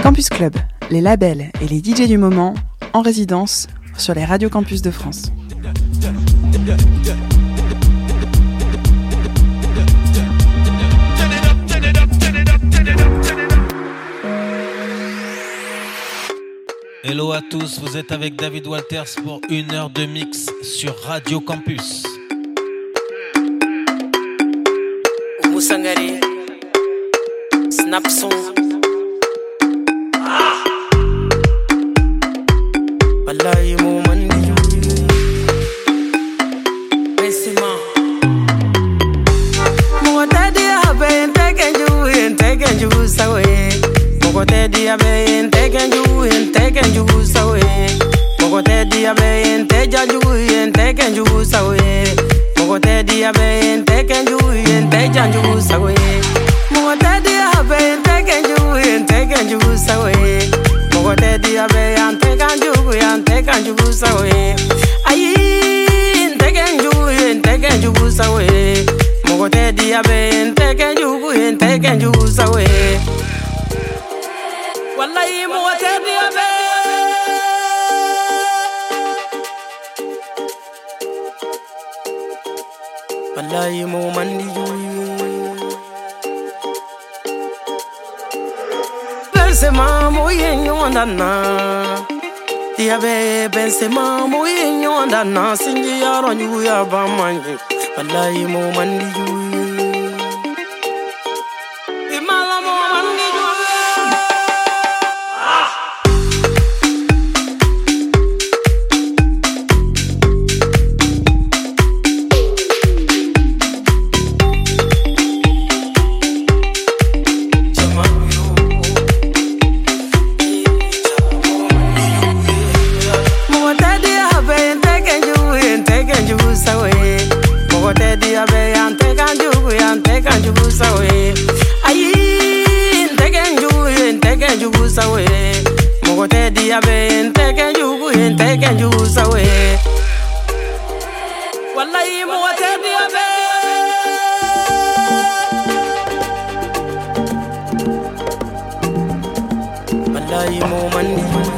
Campus Club, les labels et les DJ du moment en résidence sur les radios campus de France. Hello à tous, vous êtes avec David Walters pour 1 heure de mix sur Radio Campus. Musangari, Snapson. Wallahi mo mandi Bessima. Mo tadi abe entekenju sawe. Mo tadi abe entekenju sawe. Mo tadi abe entekenju sawe. Mo tadi abe entekenju sawe. Mo tadi abe entekenju sawe. Mogote diabe antekanju sawe. Ayi antekanju sawe. Mogote diabe antekanju sawe. Wallahi mogote diabe. Wallahi mo mandi Benzema moye nyondana Diabe Benzema moye nyondana Sinji yaro nyuya bamanyi Wallahi mo mandi Imala mo mandi antekanju sawe. Ayi antekanju sawe. Mogote diabe antekanju sawe. Wallahi mogote diabe. Wallahi mo mandi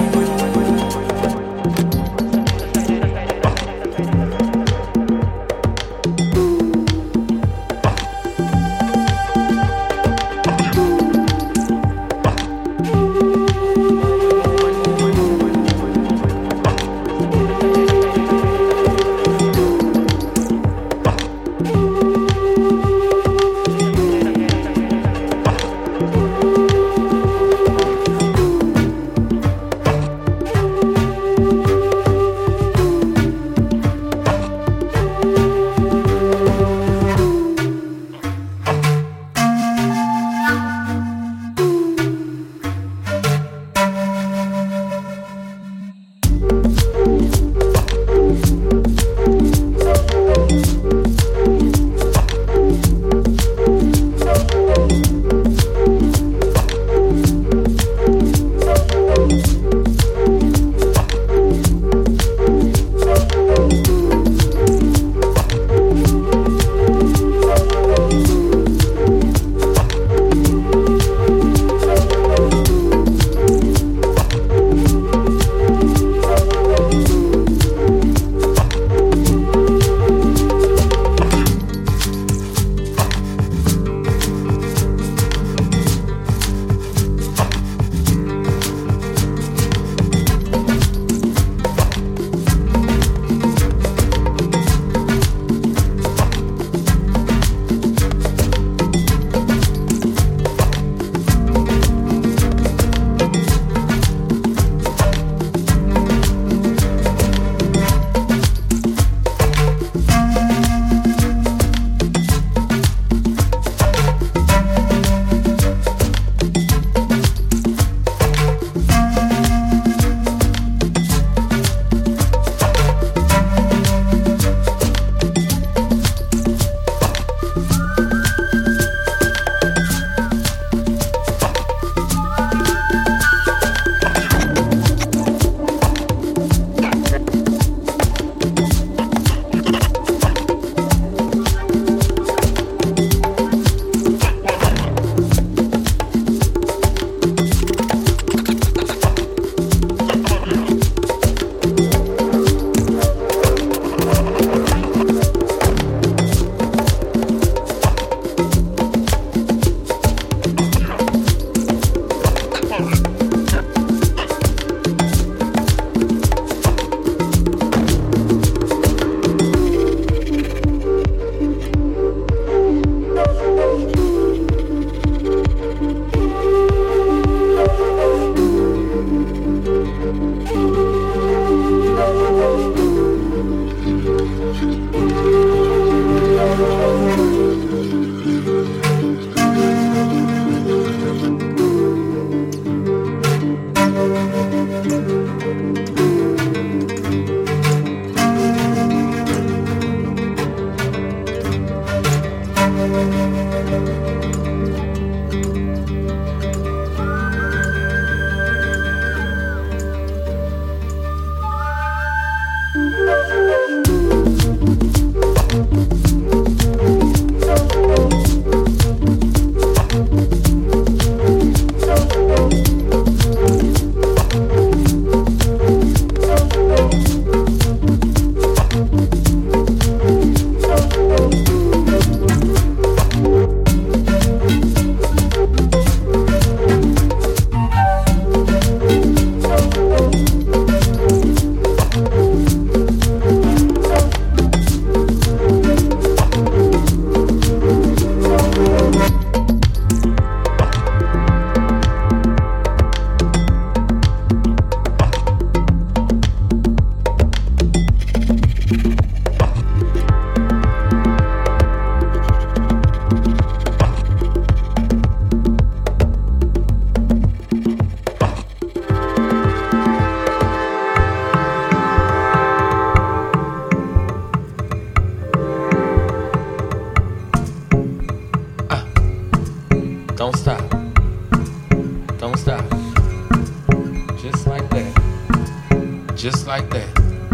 Don't stop. Don't stop. Just like that. Just like that.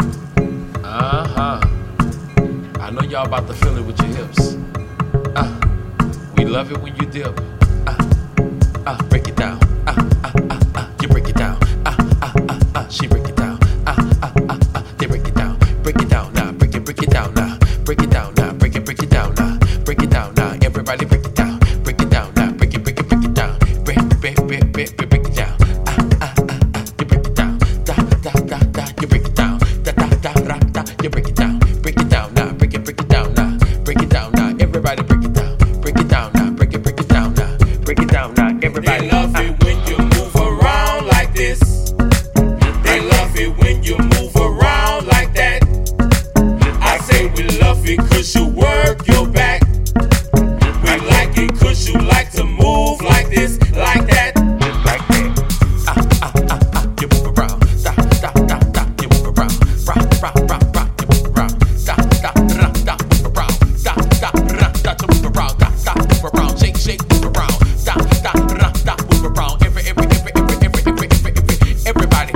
I know y'all about to feel it with your hips. We love it when you dip. Break it down. You break it down. She break it down. They break it down. Break it down now. Break it down now. Break it down now. Break it down now. Break it down now. Everybody break it down. Break it down now. Break it down. Break it down. You break it down. You break it down. You break it down. Break it down now. Break it down now. Break it down now. Everybody break it down. Break it down now. Break it down now. Break it down now. Everybody. They love it when you move around like this. They love it when you move around like that. I say we love it 'cause you work your back. We like it 'cause you like to move like this, like that. Just like that. You move around. You move around. Rock. You move around. Move around. You move around. Move around. Shake, move around. Move around. Everybody. Everybody.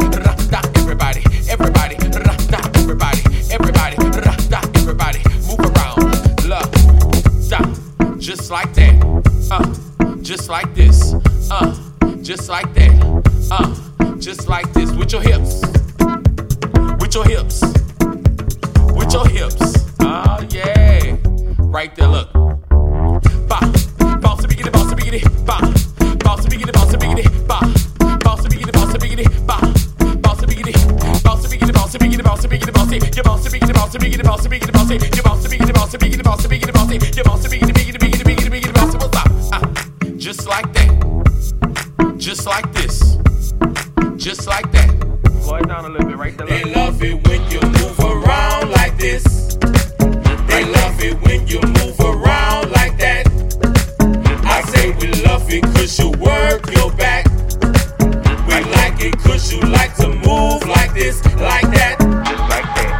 Move around. Love. Just like that. Just like this. Just like that. Just like this. With your hips. With your hips. With your hips. Oh yeah. Right there, look. Ba. Bounce a biggity, bounce a biggity. Ba. Bounce a biggity, bounce a biggity. Ba. Bounce a biggity, bounce a biggity. Ba. Bounce a biggity. Bounce a biggity, bounce a biggity, bounce a biggity, bounce it. You bounce a biggity, bounce a biggity, bounce a biggity, bounce it. You bounce a biggity, bounce a biggity, bounce a biggity, bounce it. You bounce a biggity, biggity, bounce it. What's up? Just like that. Just like this. Just like that. Slow it down a little bit right there. They love it when you move around like this. They love it when you move around like that. I say we love it 'cause you work your back. We like it 'cause you like to move like this, like that. Just like that.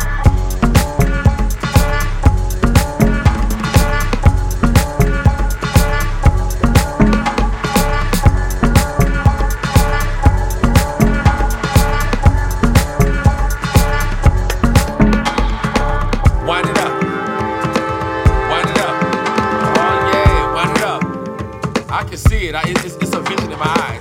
Wind it up. Wind it up. Oh yeah, wind it up. I can see it. It's a vision in my eyes.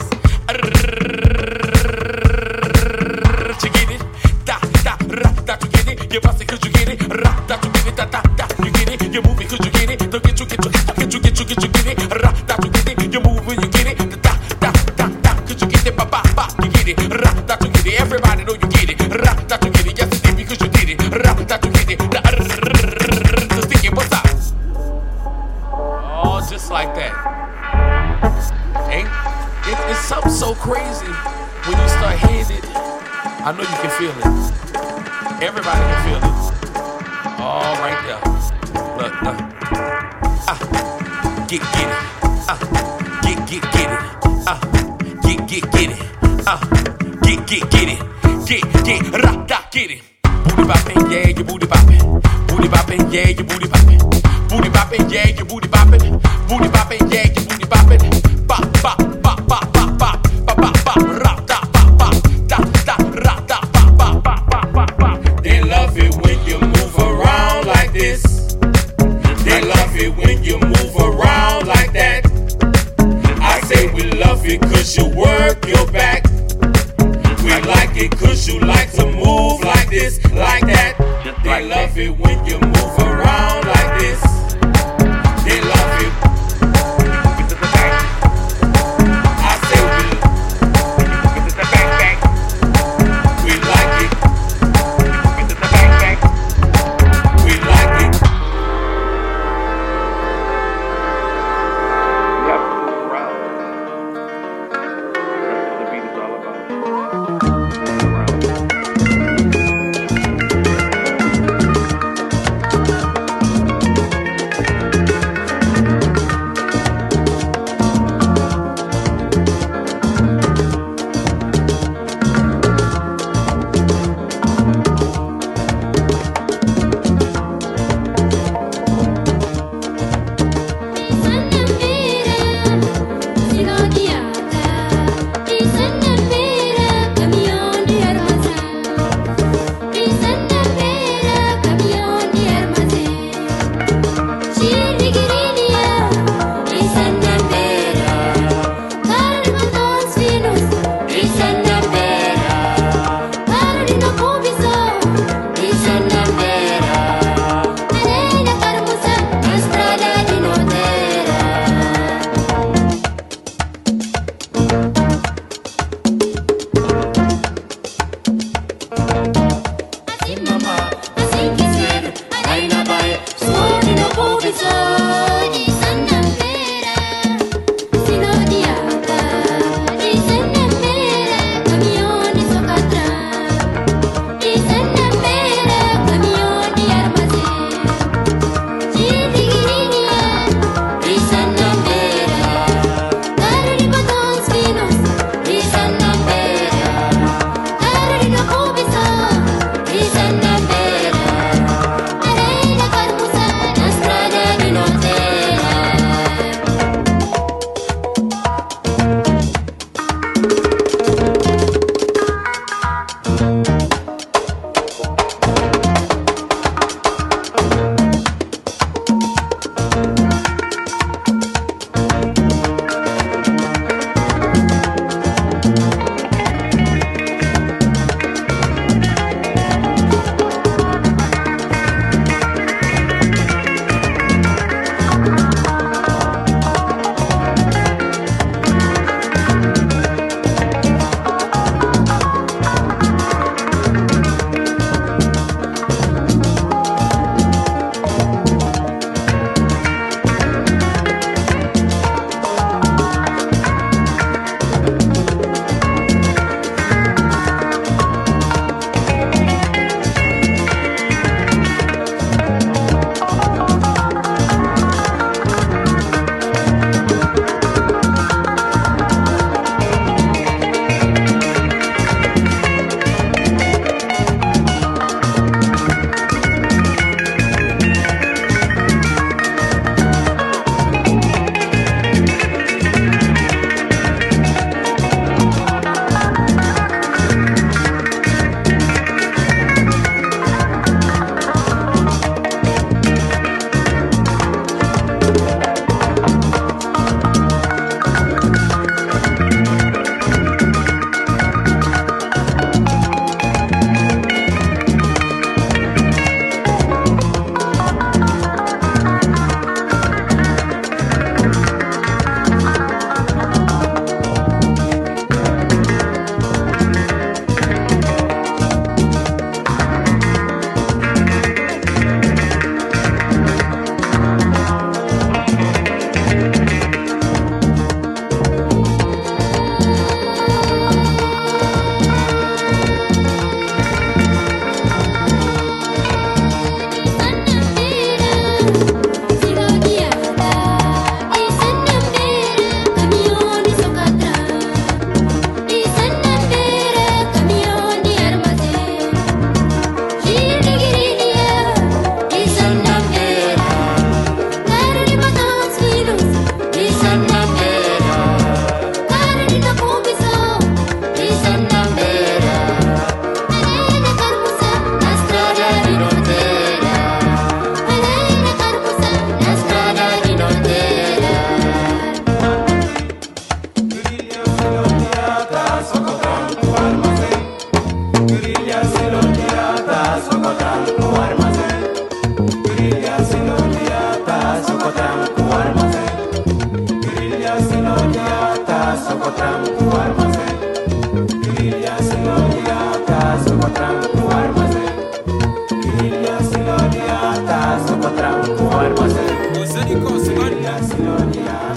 You get it? You get it? You bust it 'cause you get it? You get it? You get it? You move it 'cause you get it? Don't get you get it? You get it? You move when you get it? 'Cause you get it? You get it? You get it? Everybody know you get it? You get it? Yes, it did because you did it. You get it? The sticky, what's up? Oh, just like that. Ain't it's something so crazy when you start hitting it. I know you can feel it. Everybody can feel it. All right there. Look. Get it. Get it. Get it. Get it. Get it. Booty bopping, yeah, you booty bopping. Booty bopping, yeah, you booty bopping. Booty bopping, yeah, you booty bopping. poppin', yeah, your booty boppin'. Bop, bop, bop, bop, bop, bop, bop, bop, bop, rap, da, bop, bop, da, da, rap, da, bop, bop, bop, bop, bop, bop. They love it when you move around like this. They love it when you move around like that. I say we love it cause you work your back. We like it cause you like to move like this, like that. They love it when you move around like this. They love it. I say we like it. We like it. You have to move around. That's what the beat is all about. Move around.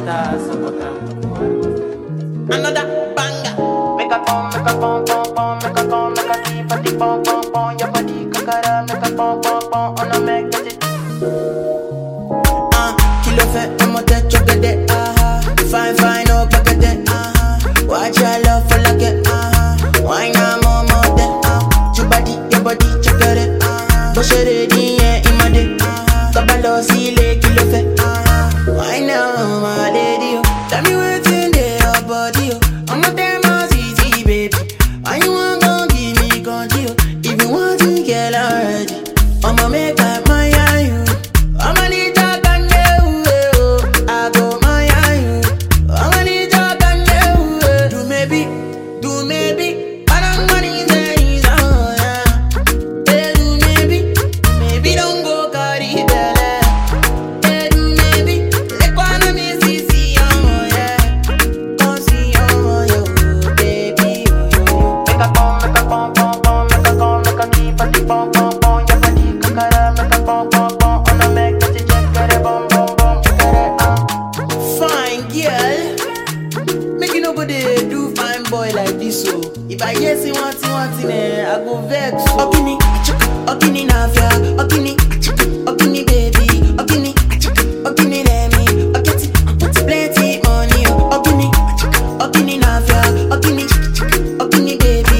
Another banger. Make a pom, make a pom, pom, pom, make a pom, make a deep, body pom, pom, pom. Your body kakara, make a pom, pom, pom. On a make it. Kilo fait, I'm a touch of it. Fine, fine, no packet. Watch your love for like it. Why not more, more than your body, check it. Push it in, yeah, in my day. Kabalo, see, kilo fait. Why now, my lady? Tell me what's in there, your body. I'm a damn easy, baby. Why you want to give me control? If you want to get already, I'ma make up my eye. I'ma need to can you. I go my eye. I'ma need to can you. Do maybe. But I'm money there is on. Yeah, do maybe don't go carry belly. Yeah, do maybe. Let one of me see oh yeah. Come see oh yo, baby yo. Make a pom, make a pom, pom, pom, make a pom, make a keep body pom, pom, pom. Your body kakara, make a pom, pom, pom. On a make that you check it, bom, bom, bom, check it. Fine girl, make you nobody do fine boy like this so. If I hear say one thing, I go vex. Okini, nafia, okini baby, okini let me, okiti, plenty money. Okini nafia, okini baby,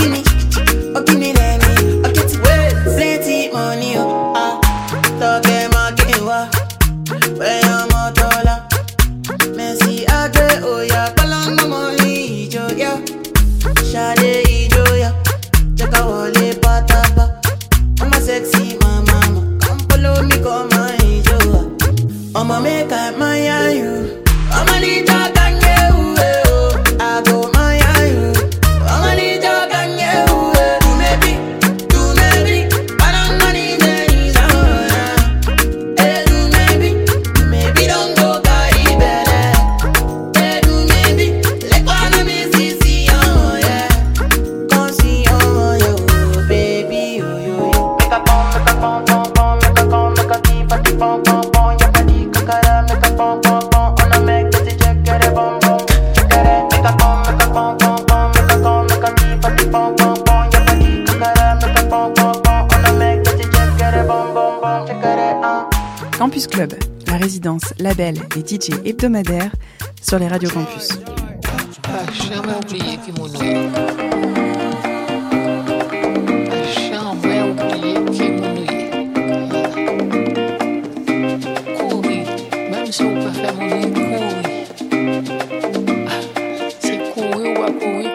okini let me, okiti, plenty money. Talk market wa, where I'm a dollar. Messi agre oya, kalang money joya, shade joya, cheka wale patapa. I'm a sexy mama, come follow me, come my joya. I'ma make up my eye. I'ma need your can you. I go my eye. I'ma need your can you. Do maybe, but I'm money there is on. Hey, do maybe don't go carry belly. Hey, do maybe, let one of me see oh yeah. Come see oh yo, baby yo. Make a pom, pom, pom, make a pom, make a keep body pom, pom, pom. Your body kakara, make a pom, pom, pom. On a make that you check it, bom, bom, check it. Make a pom, pom, pom, make a pom, make a keep body pom, pom, pom. Your body kakara, make a pom, pom, pom. On a make that you check it, bom, bom, bom, check it. Campus Club, la résidence, label et DJ hebdomadaire sur les radios campus. Jamais oublié qui mon Jamais oublié qui mon courir, même si on peut faire mon courir. C'est courir ou à courir.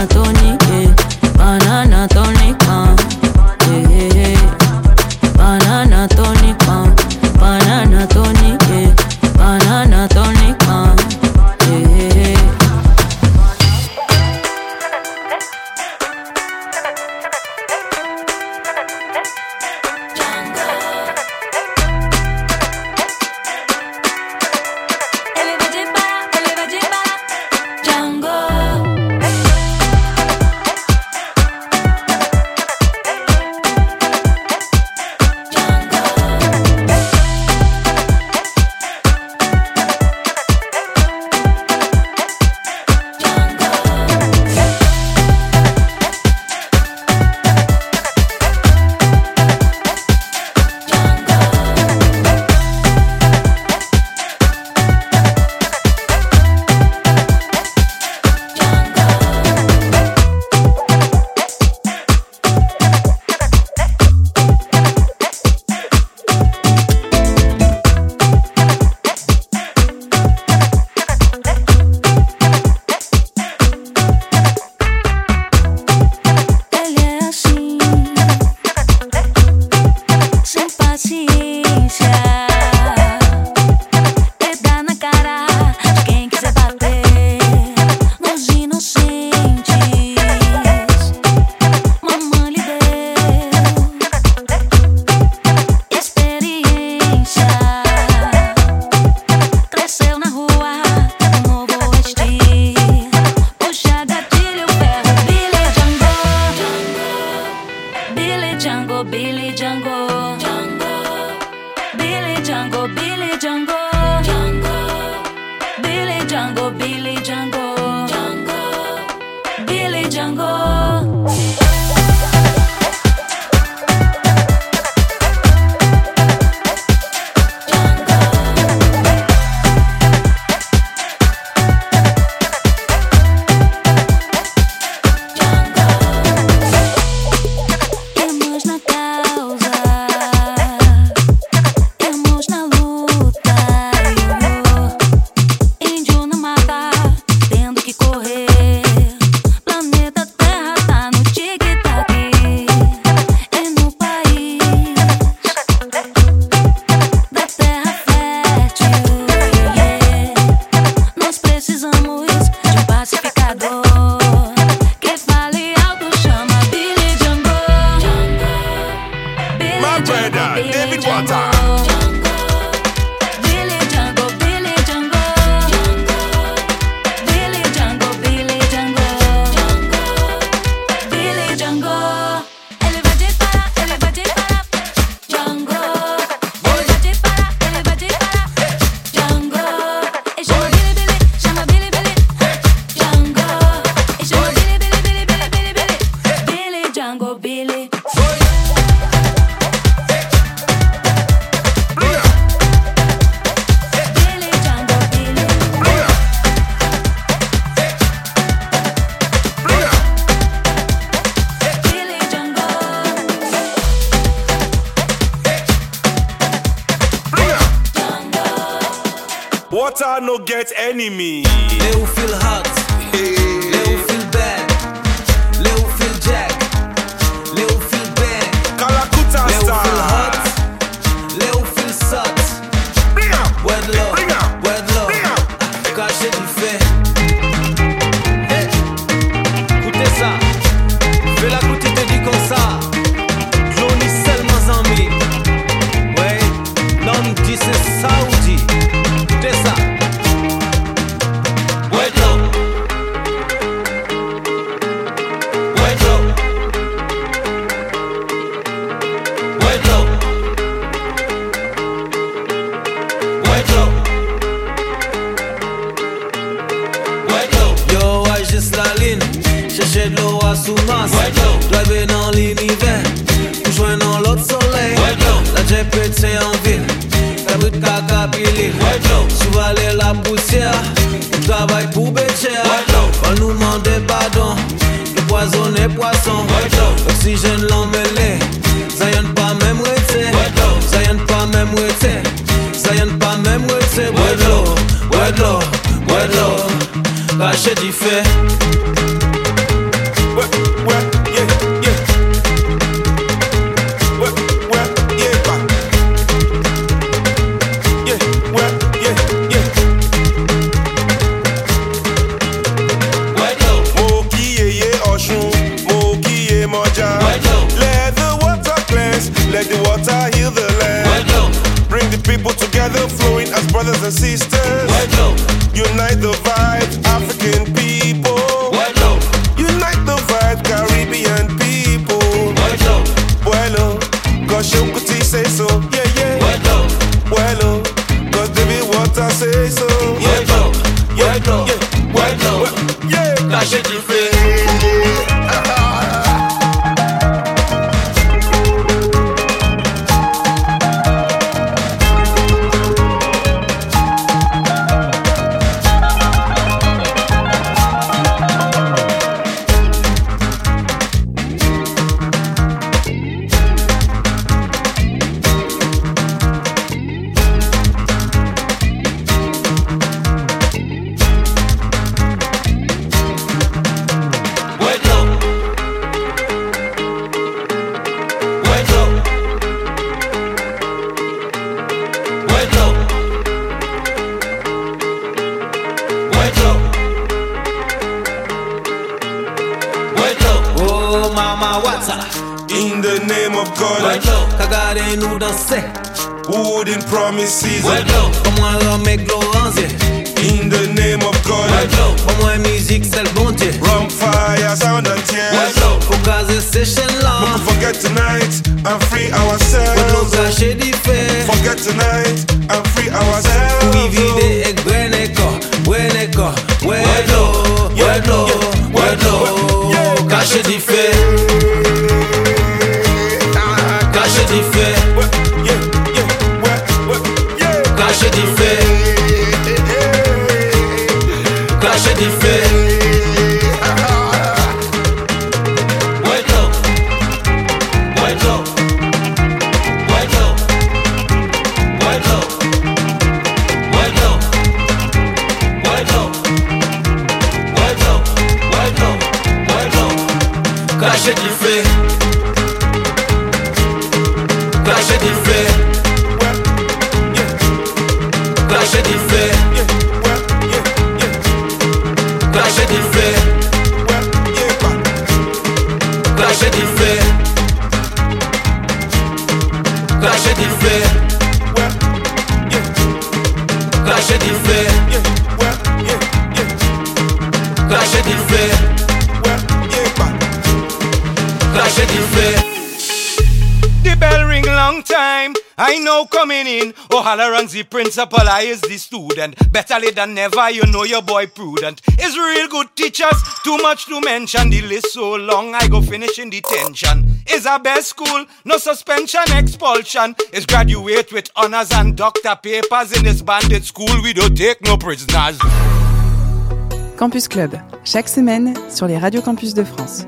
Water no get enemy. They who feel hot, they who feel bad, they who feel jack, they who feel bad, Kalakuta they who star. feel hot, they who feel sot. Word love, caché du fait. Hey, écoutez ça, fais la goûter te dit comme ça. Johnny seulement en mi. Ouais, l'homme dit c'est Saoudi. Écoutez ça. Chercher de l'eau à sous-masse, driver dans l'univers, pour joindre dans l'autre soleil. La JPT en ville, fabrique caca pili, souvaler la poussière, on travaille pour Bécher. On nous demande pardon, le poison est poisson, l'oxygène l'emmêlé, ça y'en pas même rete, ça y'en pas même rete, ça y'en pas même rete. Wedlo, caché du fait. let the water heal the land. Bring the people together, flowing as brothers and sisters. Unite the vibes, African people. Unite the vibes, Caribbean people. Bueno, cause Shokuti say so. Yeah, yeah. Bueno, cause David Water say so. Yeah, yeah, yeah. Yeah, Caché du feu. in the name of God. Kagare nous danser. Wooden promises. Comment remettre Laurence. In the name of God. Comment musique c'est le bon Dieu. Rum, fire, sound and tears. Faut caser session là. Don't forget tonight and free ourselves. Forget tonight and free ourselves. Oui, vide et greneko, greneko, wedo, caché du fait. Caché du fait. Caché du fait. Caché du fait. Caché du fait. Caché du fait. Caché du fait. Caché du fait. Caché du fait. Caché du fait. Caché du fait. Caché du fait. Caché du fait. The bell ring long time. I know coming in. O'Halloran's the principal, I is the student. Better late than never, you know your boy prudent. Is real good teachers, too much to mention. The list so long, I go finish in detention. Is a best school, no suspension, expulsion. Is graduate with honors and doctor papers. In this bandit school, we don't take no prisoners. Campus Club, chaque semaine sur les radios campus de France.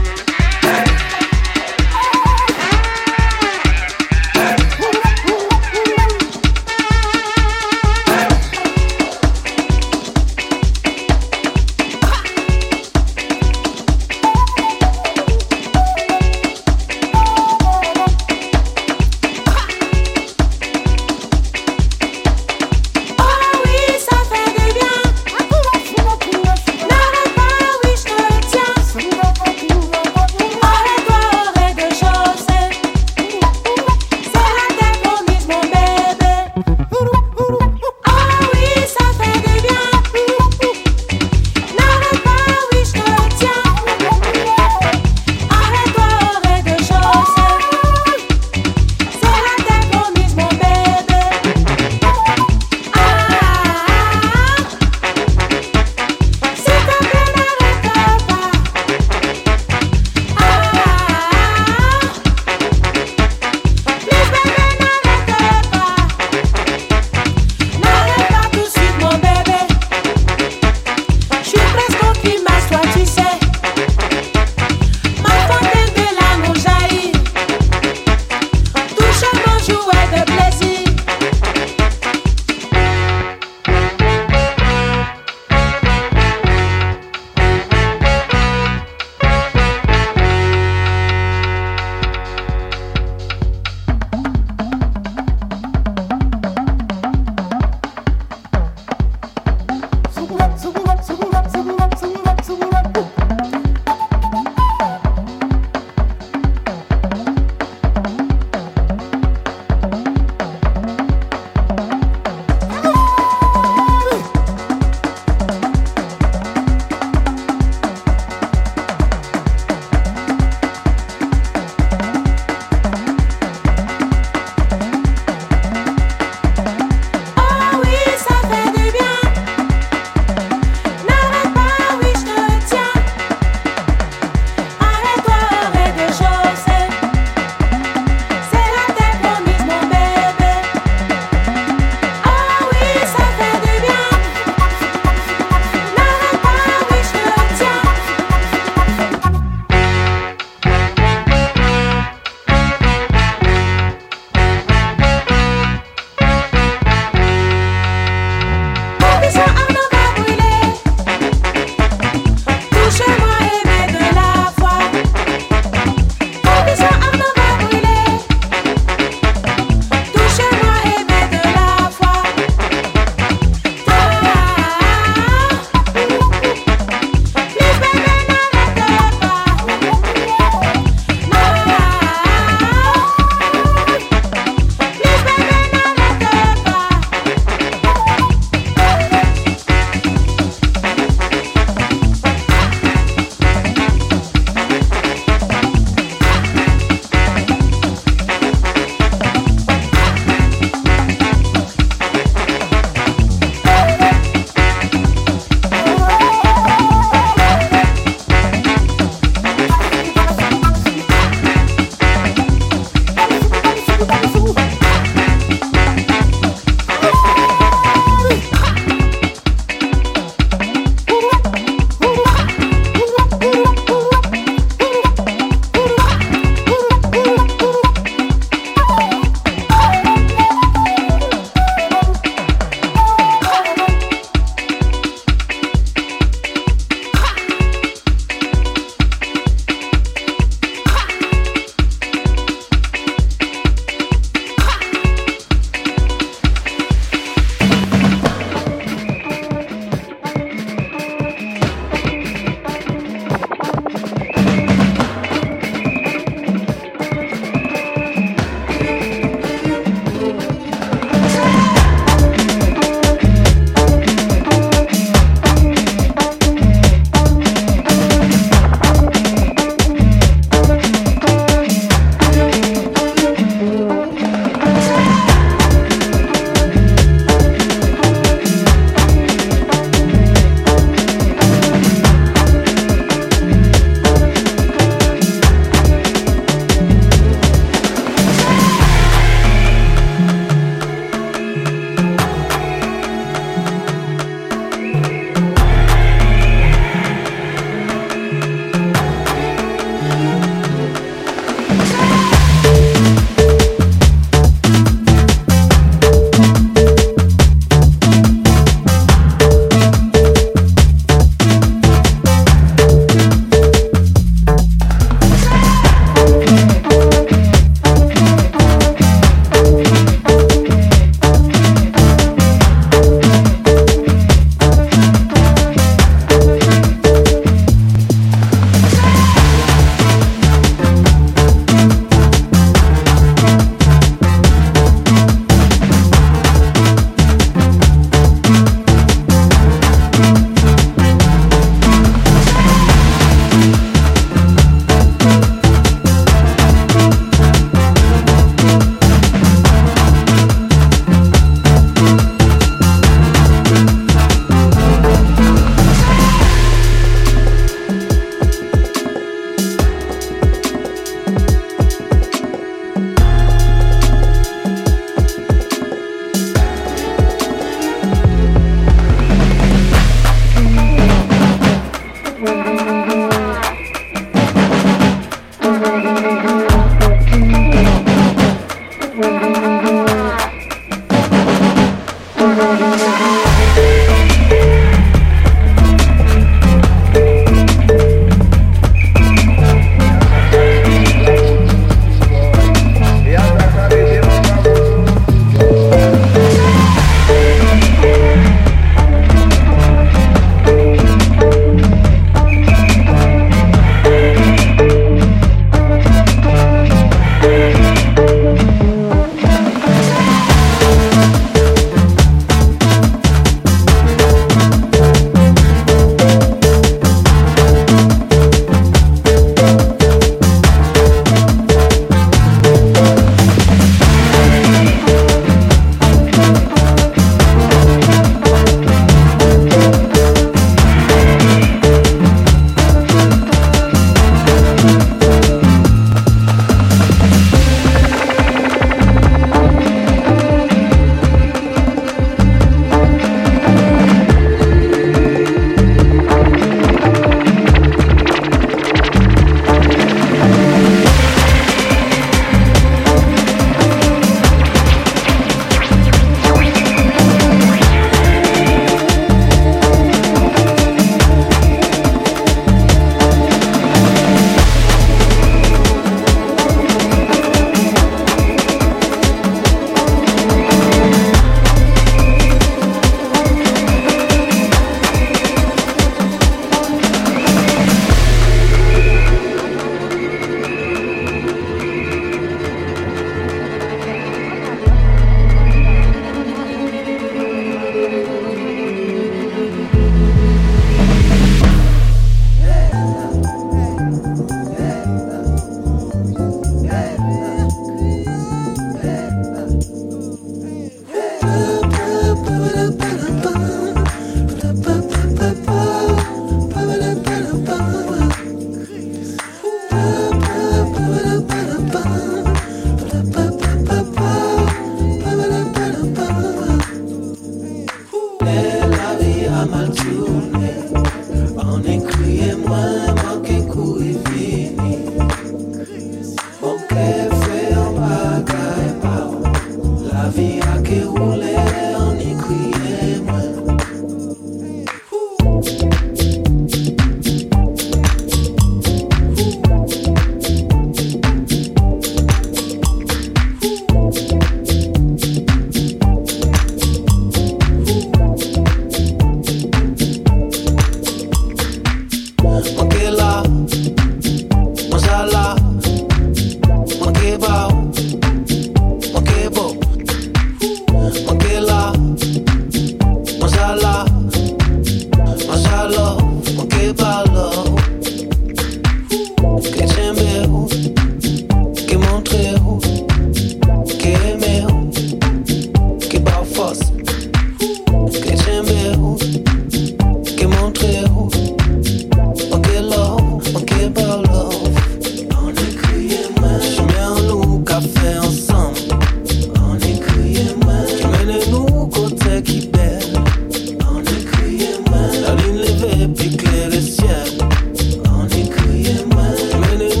que j'aimais, que montrer, que aimer, que par force, que j'aimais, que montrer, que love, que par love. On est crié mal, je mets en nous café ensemble. On est crié mal, je mène nous côté qui belle. On est crié mal, la ligne levée puis clair le ciel. On est crié mal, je mène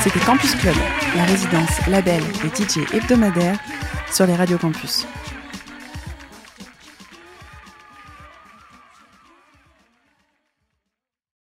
C'était Campus Club, la résidence label et DJ hebdomadaire sur les radios campus.